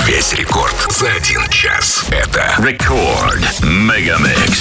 Весь рекорд за 1 час. Это Рекорд Мегамикс.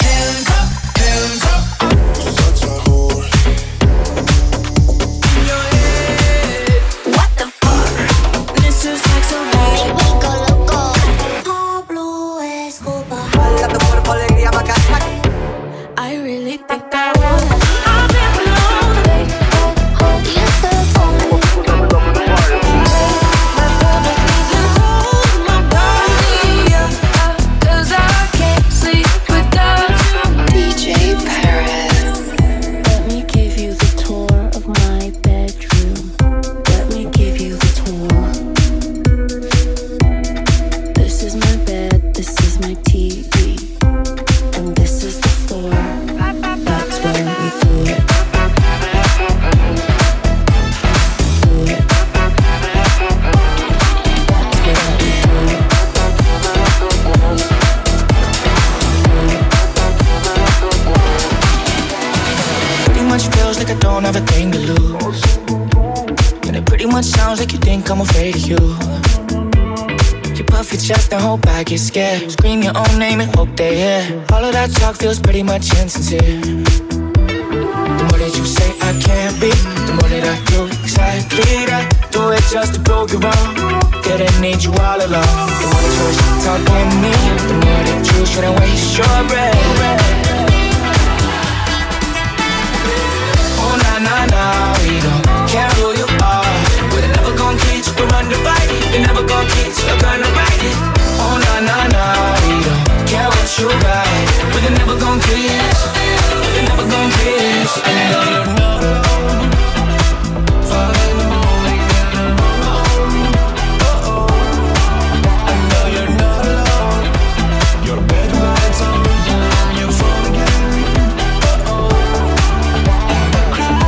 Get scared, scream your own name and hope they hear. All of that talk feels pretty much insincere. The more that you say I can't be, the more that I do exactly that. Do it just to prove you wrong, that I need you all along. The more that you're talking me, the more that you shouldn't waste your breath. Oh na na na, we don't care who you are. We're never gonna teach you to run the fight. We're never gonna teach you to run the right. Oh na na na, we don't care what you got. We're never gon' kiss, we're never gon' kiss. I know you're not alone, falling in the morning and alone. Oh, I know you're not alone. Your bed lights on, your phone again. Oh, and I cry.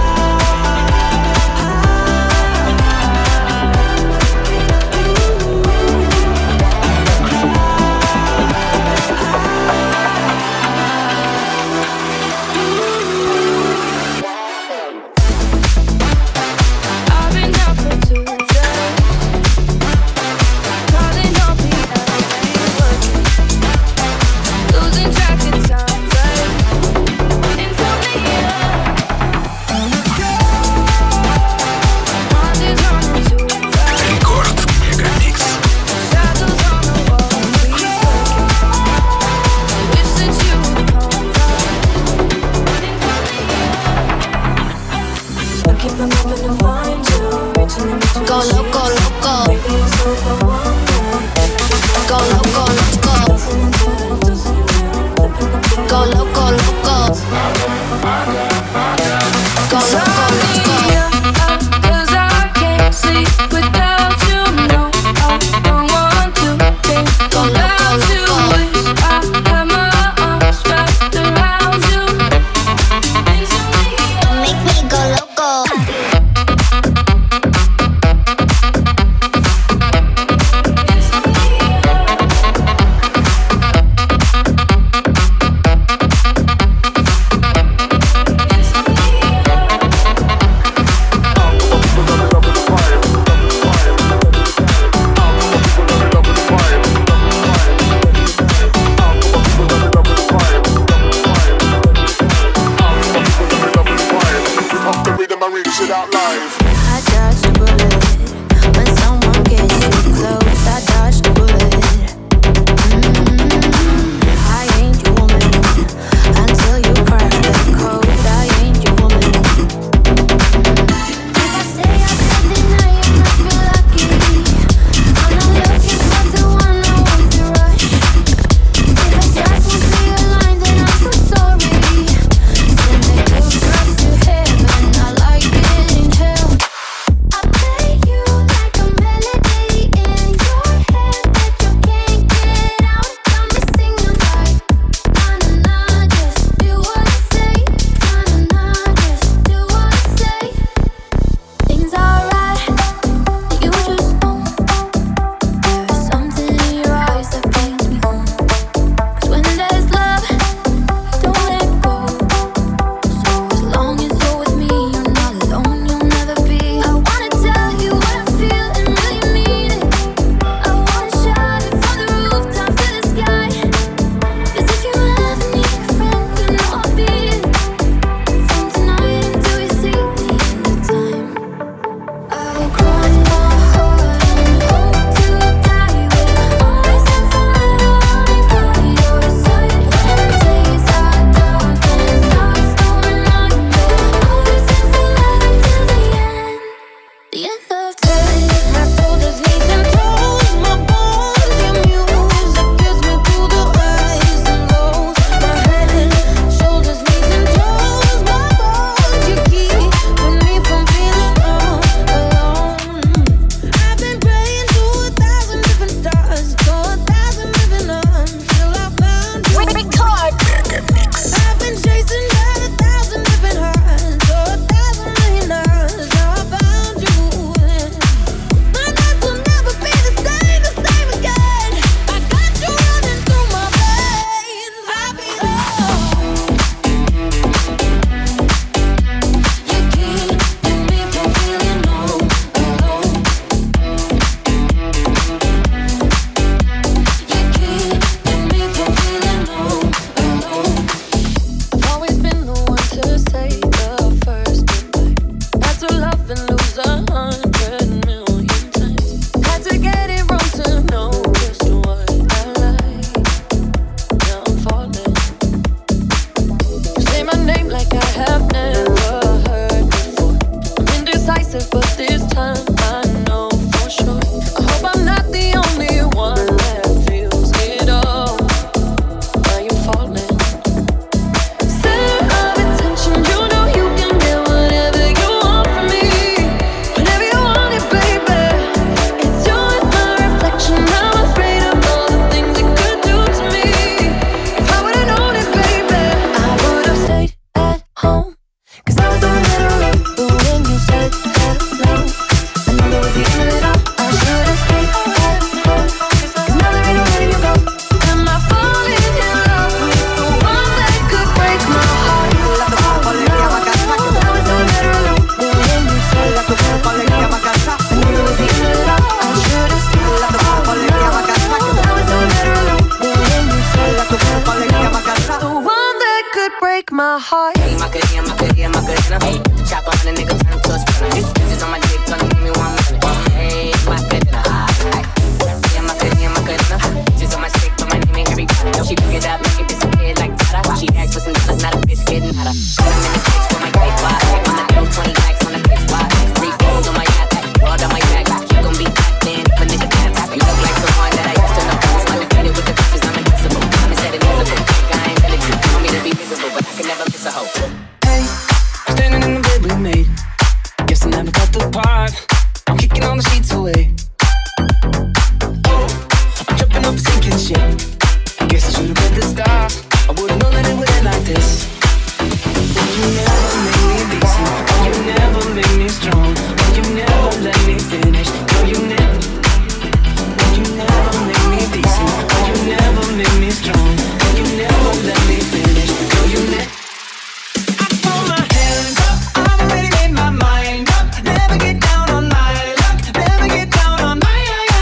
my heart. Hey, Macarena, Macarena, Macarena. Hey, the chopper on a nigga turn him to a sprinter. Bitches on my dick, tryna give me 1 minute. Hey, Macarena, Macarena, Macarena, Macarena. Bitches on my stick, but my name ain't Harry Potter. She pick it up, make it disappear like Tata. She asked for some dollars, not a bitch getting hotter. Put 'em in the six for my great spot. On the dough, 20 racks on the big spot. 3 phones on my yacht, world on my back. She gon' be tapped in if a nigga tap. You look like someone that I used to know. Undefeated with the bitches, I'm invincible. I'm instead invisible. I ain't really true. Want me to be visible, but I can never miss a hoe. Hey, standing in the bed we made. Guess I never felt the part. I'm kicking all the sheets away. Oh, I'm jumping up, sinking shit. I guess I should've read the stars. I would've known that it would end like this. You never make me decent. You never make me strong. You never let me finish. No, you never make me decent. You never make me strong. You never let me finish. No, you never. I throw my hands up. I've already made my mind up. Never get down on my luck. Never get down on my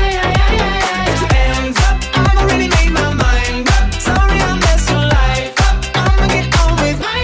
hands up. I've already made my mind up. Sorry, I messed your life up. I'ma get on with my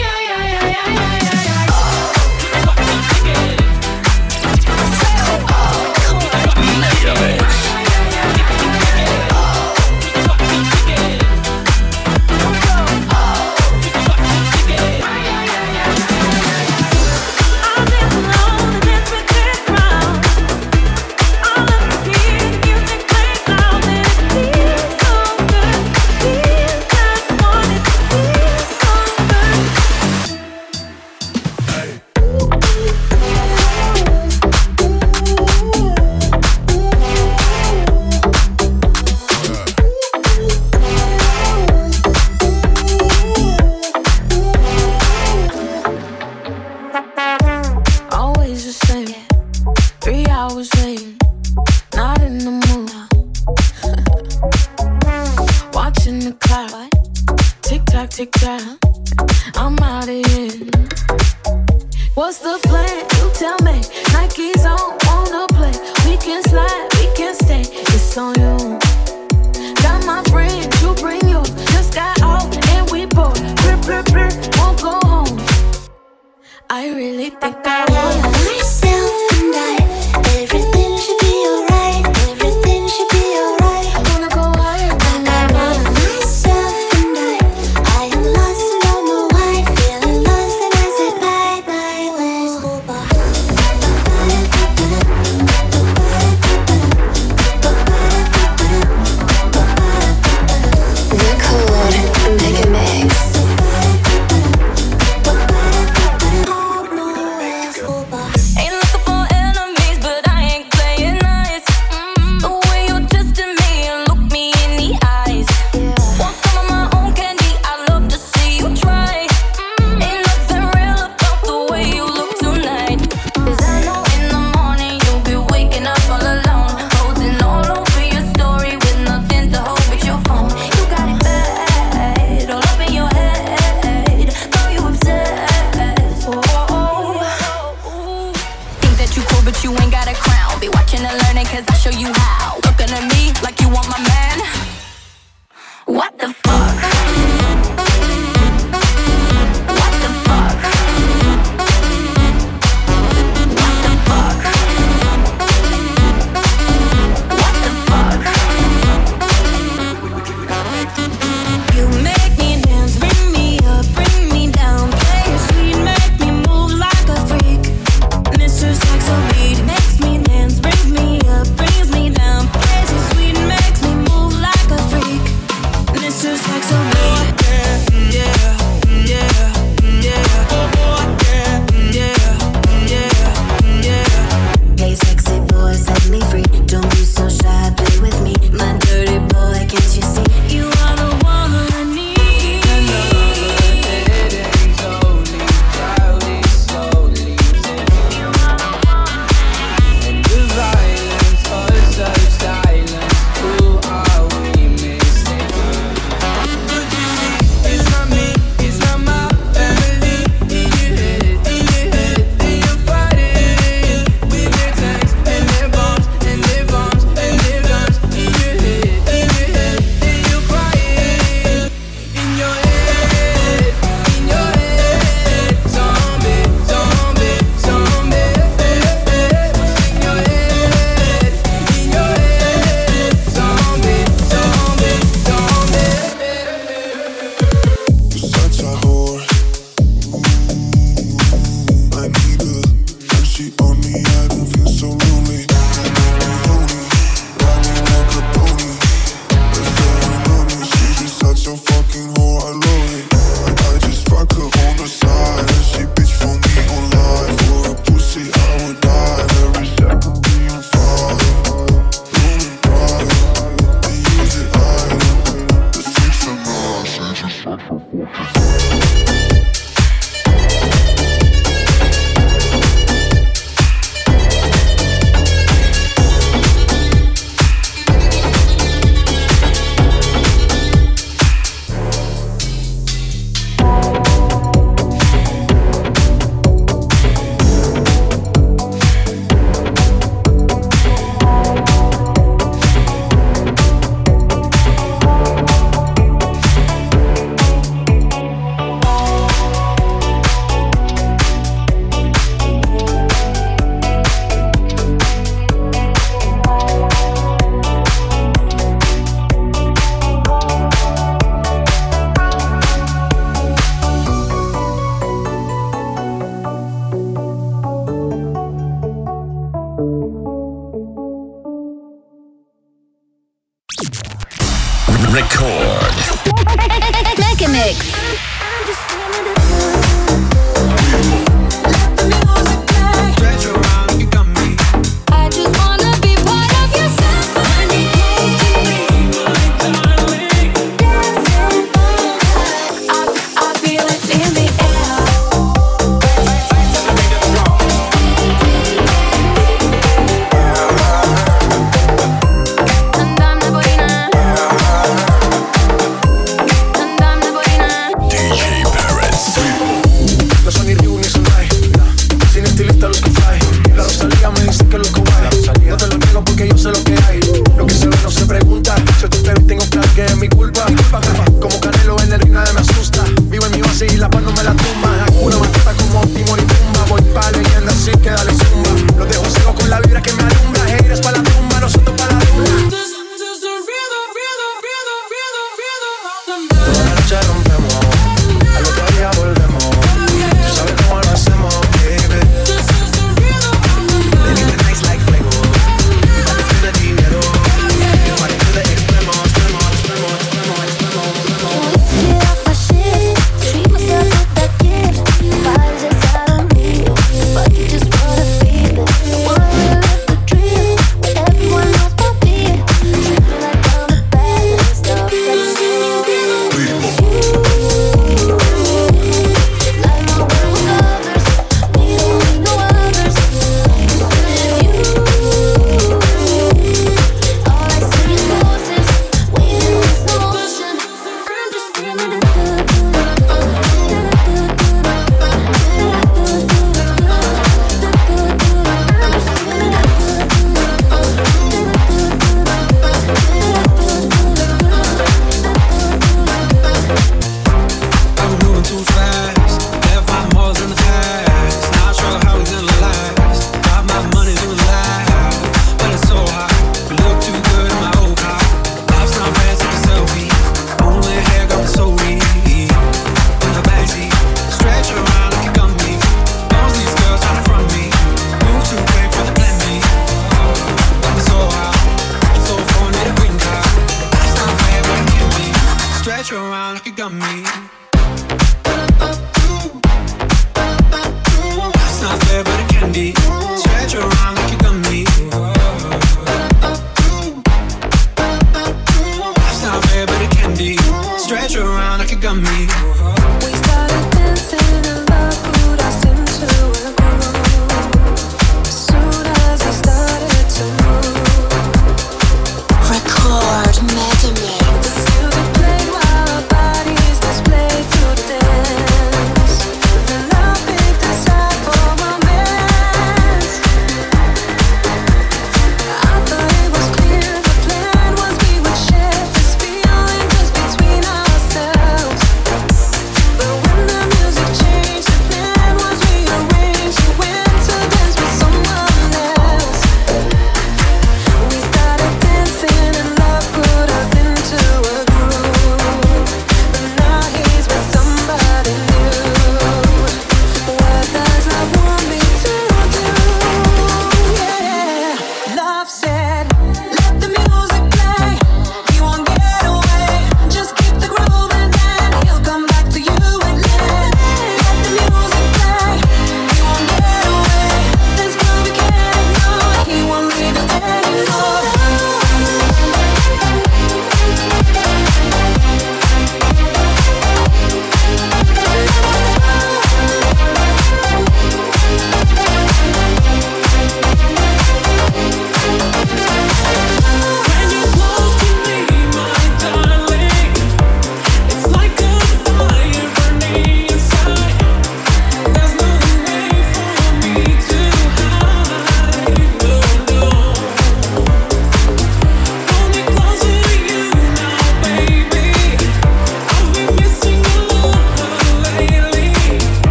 Record. Mega Mix.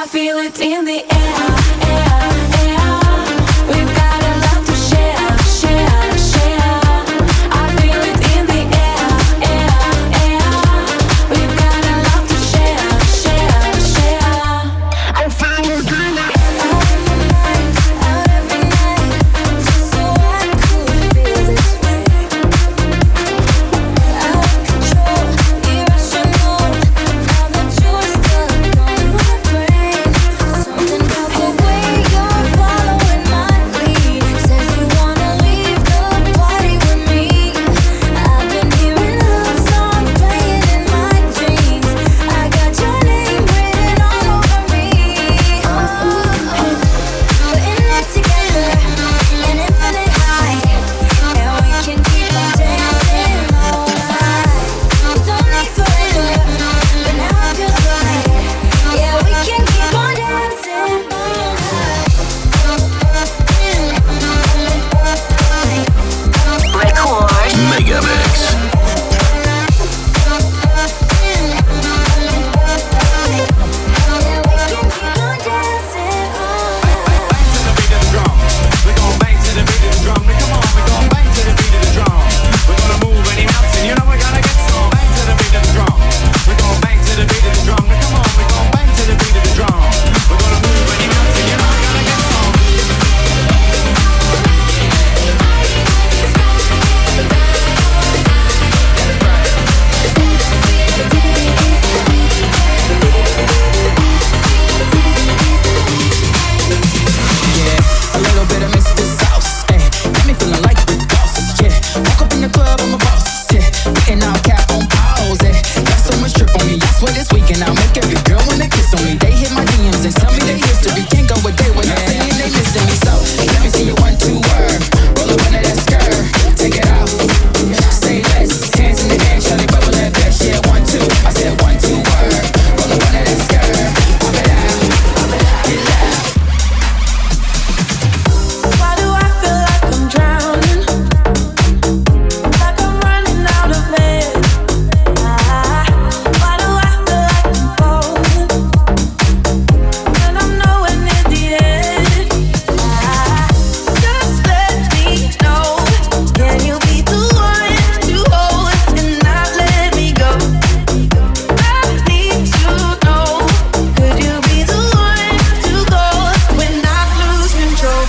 feel it in the air, air, air. We've got a lot to share, share, share. I feel it in the air, air, air. We've got a lot to share, share, share. I feel it in the air. Out every night, just so I could feel this way. Out of control, irrational. Now that you're stuck on my brain, something about the way you're following my lead says you wanna leave the party with me. I've been hearing love songs playing in my dreams. I got your name written all over me. We're in it together, an infinite high, and we can keep on dancing all night. We don't need forever, but now it feels right. Yeah, we can keep on dancing all night. Record. Megamix. A little bit of Mr. Sauce, got me feeling like the boss, yeah. Woke up in the club, I'm a boss, yeah. Getting all cap on pause, got so much drip on me, I swear this weekend I'll make every girl wanna kiss on me. They hit my DMs and tell me their history, can't go a day without saying they missing me. So let me see you 1, 2 word, roll up under that skirt, take it off, say less, hands in the air, Charlie bubble that best, yeah. 1, 2, I said 1, 2 word, roll up under that skirt, pop it out, get loud. Why do I feel like I'm drowning? Like I'm running out of air. Why do I feel like I'm falling when I'm nowhere near the edge? Just let me know. Can you be the one to hold and not let me go? I need to know. Could you be the one to go when I lose control?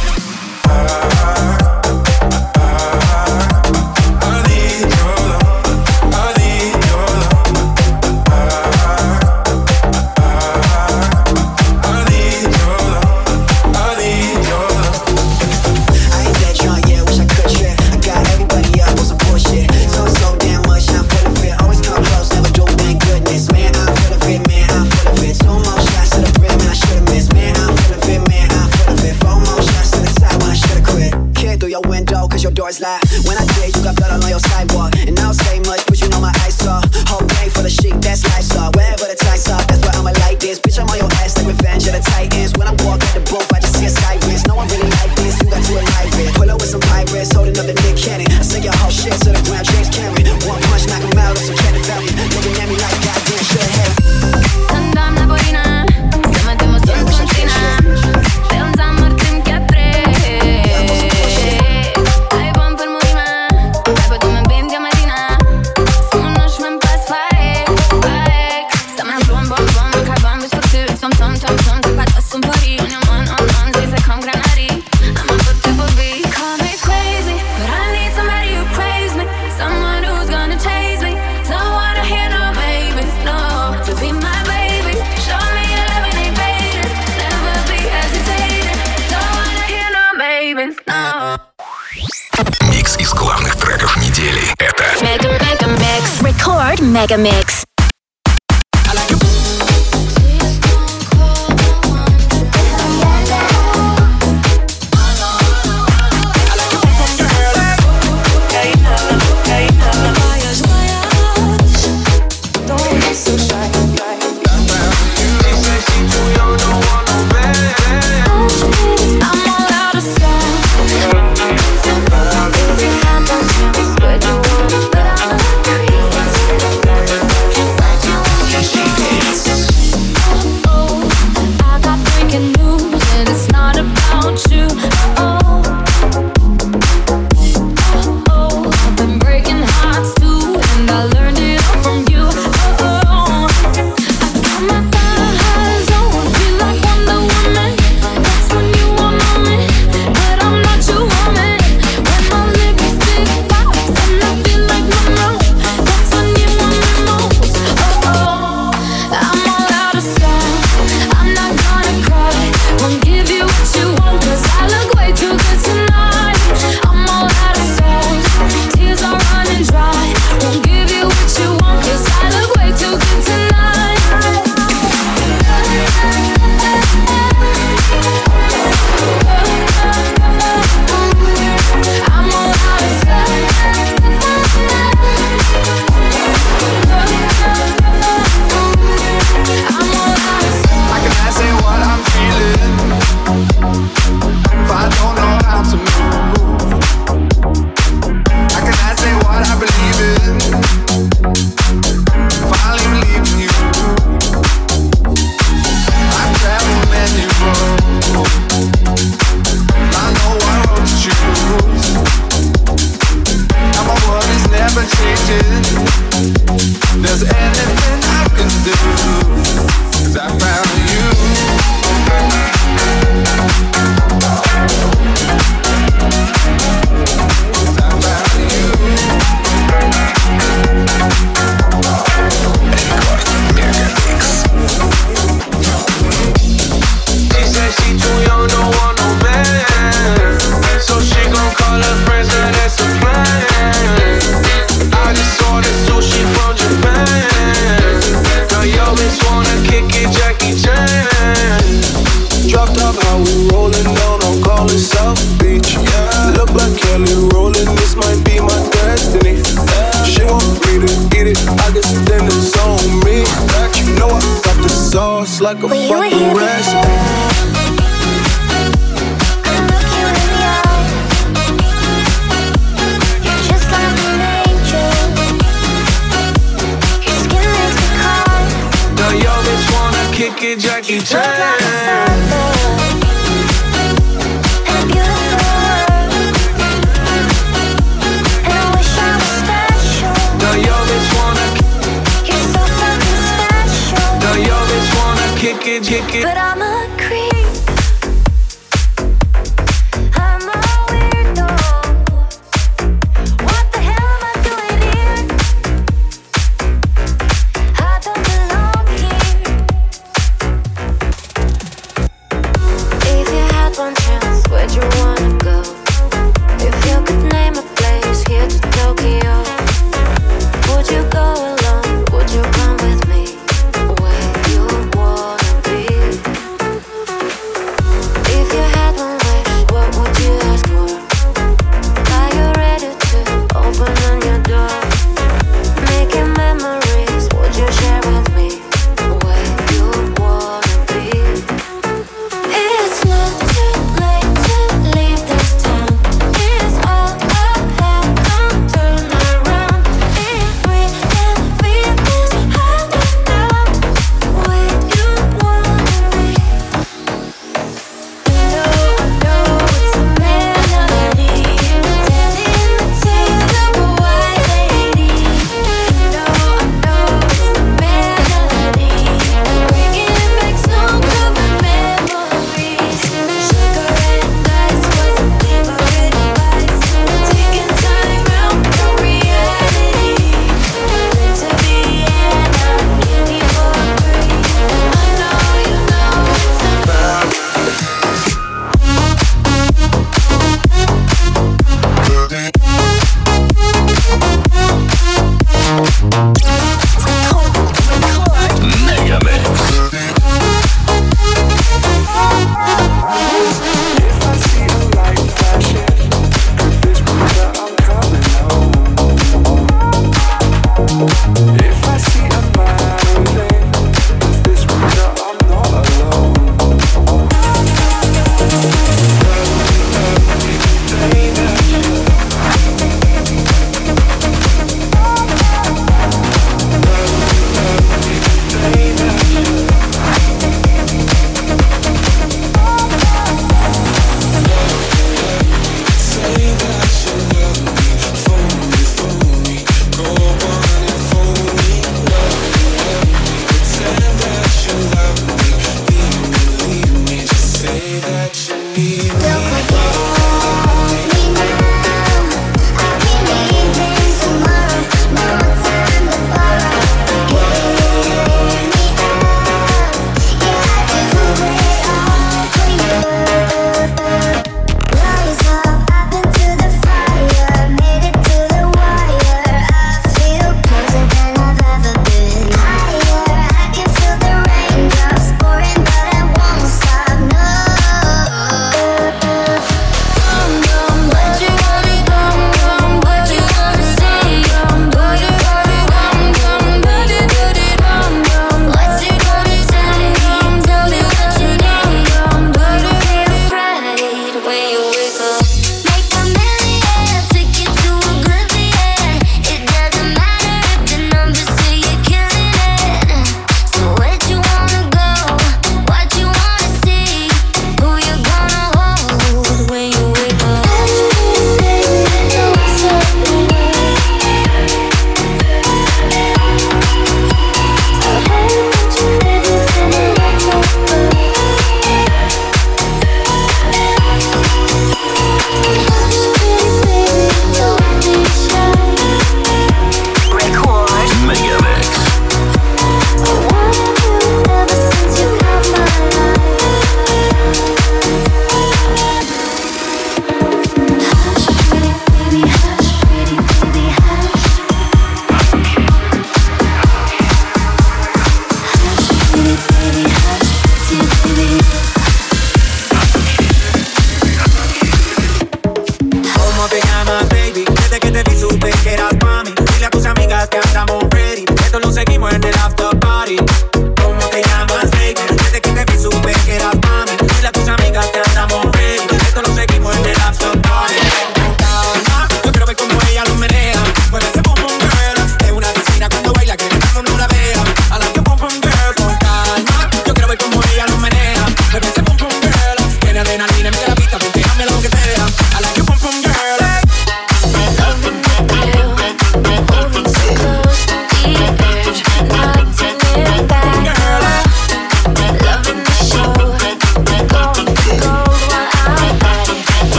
I ain't that drunk, yeah, wish I could trip. I got everybody up on some bullshit. So damn much, I'm full of it. Always come close, never do, thank goodness. Man, I'm full of it, man, I'm full of it. 2 more shots to the brim, and I should've missed. Man, I'm full of it, man, I'm full of it. 4 more shots to the side when I should've quit. Kid through your window, cause your door's locked. When I did, you got blood all on your sidewalk. And I don't say much, but you know my eyes saw. Whole game for the chic, that's lifestyle. Wherever the tights are, that's where I'ma like this. Bitch, I'm on your ass like Revenge of the Titans. When I walk at the booth, I just see a sirens. No one really like this, you got to alive it. Pull up with some pirates, holding up the Nick Cannon. I sing your whole shit to the ground, James Cameron. 1 punch, knock him out, on some Kenneth Valley. Looking at me like goddamn, should've had it. Andam na boina, se metemo solo în cantina. Film zamăr timp che ai bani per murima, hai pe tu me bendi a matina. Sonos men pas faek, faek. Sta me blom bom bom, ka bam bis faktur. Tom tom tom tom, te patas som pari. On your man, zis I come granari. I'm a put to be. Call me crazy, but I need somebody who craves me. Someone who's gonna chase me. Don't wanna hear no babies, no. To be my baby, show me your love and ain't fading. Never be hesitating. Don't wanna hear no babies, no. Микс из главных треков недели. Это Mega Mix. Record Mega Mix. I'm all out of sound. If you had the chance, would you wanna put on a breeze? like a fucking recipe. Kick it, Jackie Chan. And I wish I was special. Now yo, bitch wanna. You're so fucking special. Now yo, bitch wanna kick it. But I'm a creep. I'm a weirdo. What the hell am I doing here? I don't belong here. One chance, where'd you wanna go? If you could name a place, here to Tokyo. Would you go alone? Would you come with me? Where you wanna be? If you had one wish, what would you ask for? Are you ready to open on your door? Making memories, would you share with me? Where you wanna be? It's not too late to leave this town. It's all I have, don't turn around. If we can feel this high down, where you wanna be? No, I know it's a melody, telling the tale of a white lady. No, I know it's a melody, bringing back some common memories. Sugar and ice was a favorite advice, taking time out from reality. Meant to be and I'm guilty for free. I know you know it's a Megamix. If I see a light flashing, could this mean that I'm coming home? If I see a violin, does this mean that I'm not alone?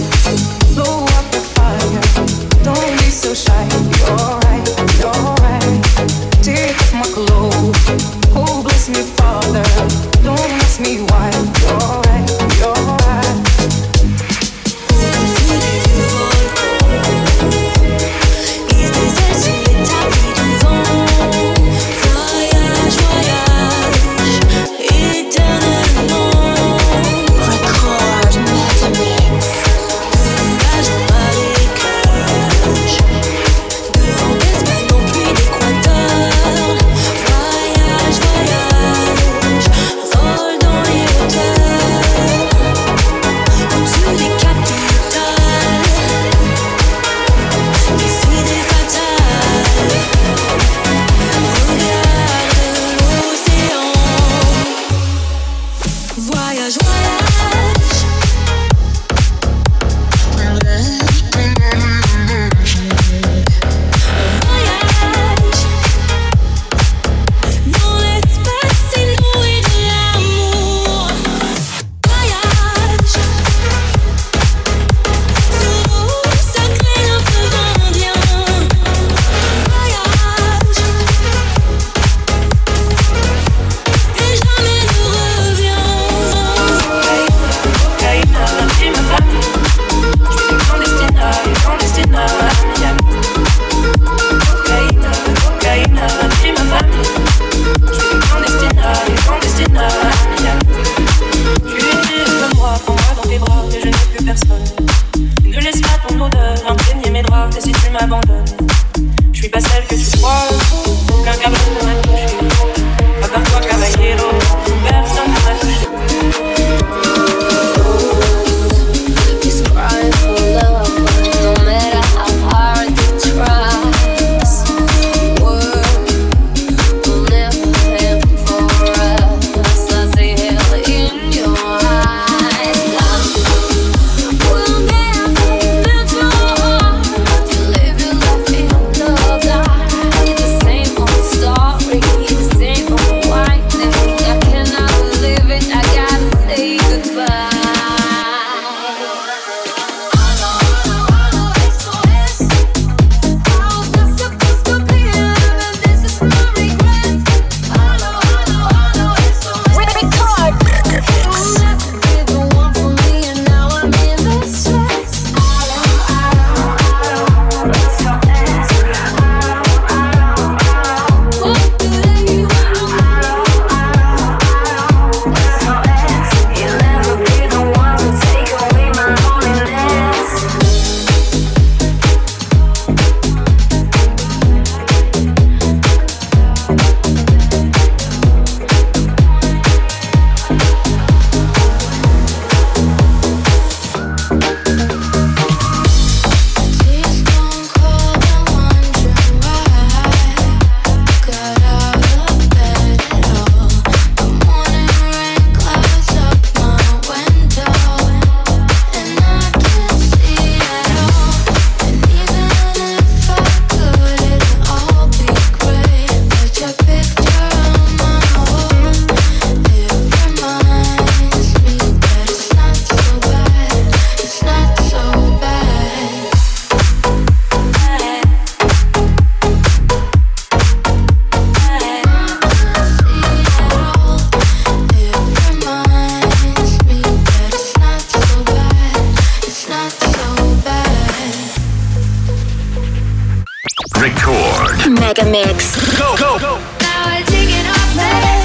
Mega Mix. Go, go, go. Now I take it off,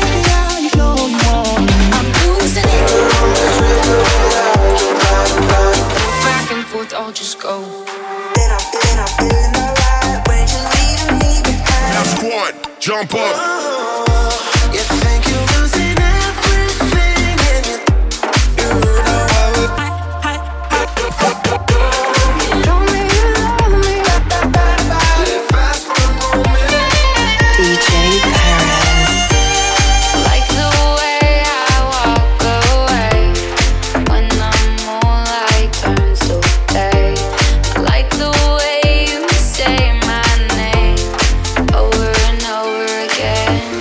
I'm losing it. Back and forth, I'll just go. Then I'm feeling alright when you're leaving me behind. Now squad, jump up. You think you're losing everything and you know DJ Paris. Like the way I walk away when the moonlight turns to day. I like the way you say my name over and over again.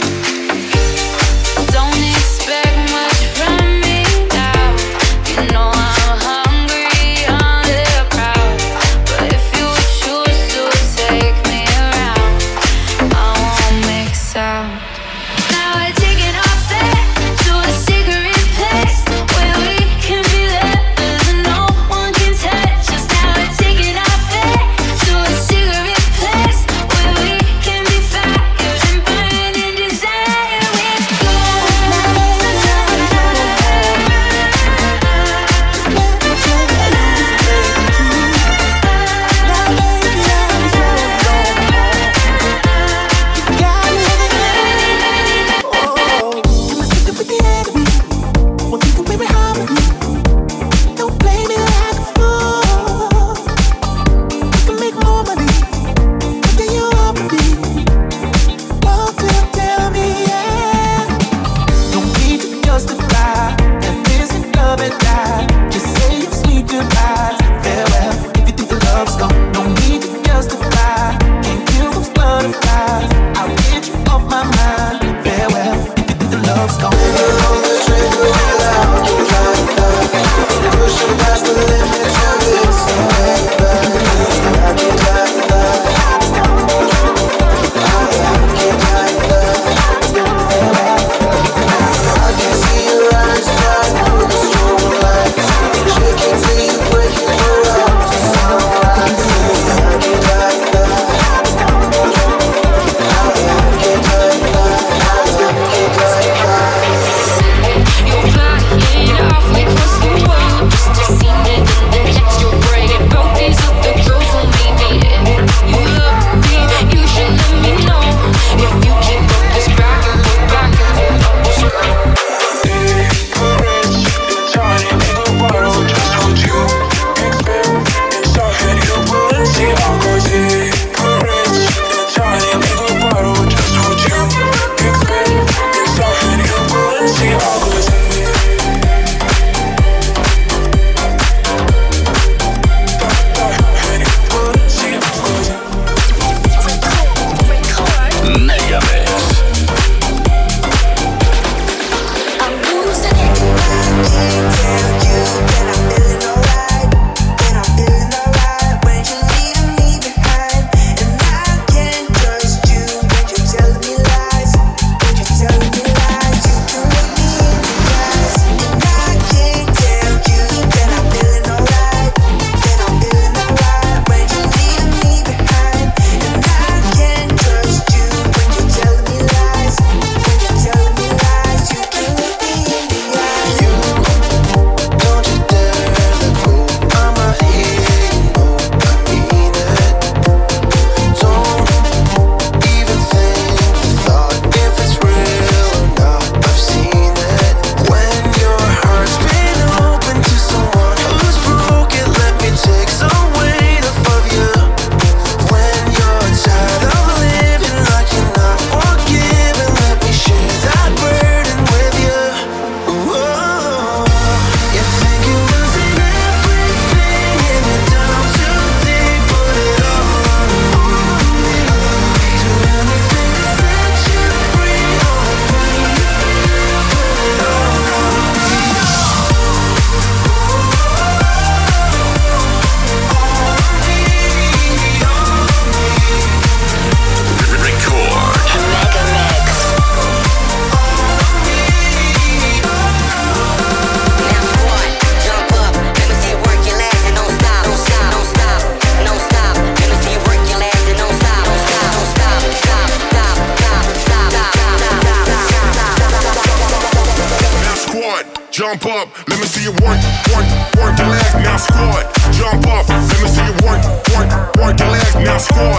jump up. Let me see you work your legs, now squat. Jump up, let me see you work your legs, now squat.